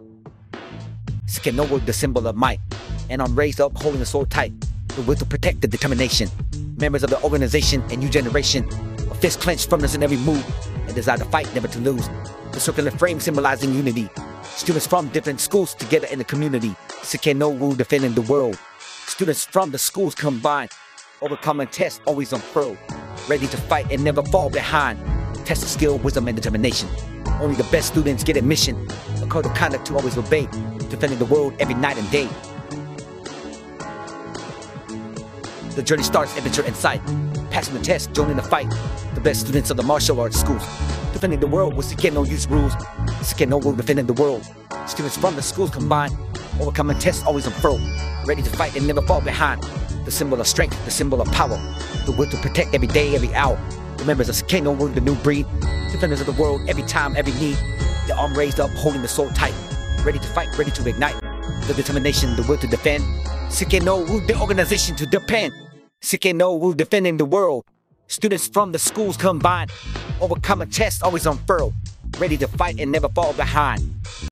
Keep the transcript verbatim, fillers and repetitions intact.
Sukenowu, the symbol of might, and I'm raised up holding the sword tight, the will to protect the determination. Members of the organization and new generation, a fist clenched, firmness in every move, and desire to fight, never to lose. The circular frame symbolizing unity. Students from different schools together in the community. Sukenowu defending the world. Students from the schools combined, overcoming tests always unfurled, ready to fight and never fall behind. Test of skill, wisdom, and determination. Only the best students get admission. A code of conduct to always obey, defending the world every night and day. The journey starts, adventure in sight. Passing the test, joining the fight. The best students of the martial arts schools, defending the world with Sukenowu rules. Sukenowu defending the world. Students from the schools combined, overcoming tests always unfurled, ready to fight and never fall behind. The symbol of strength, the symbol of power, the will to protect every day, every hour. The members of Sukenowu, the new breed, defenders of the world every time, every need. The arm raised up, holding the sword tight, ready to fight, ready to ignite. The determination, the will to defend. Sukenowu, the organization to depend. Sukenowu defending the world. Students from the schools combined, overcoming tests always unfurled, ready to fight and never fall behind.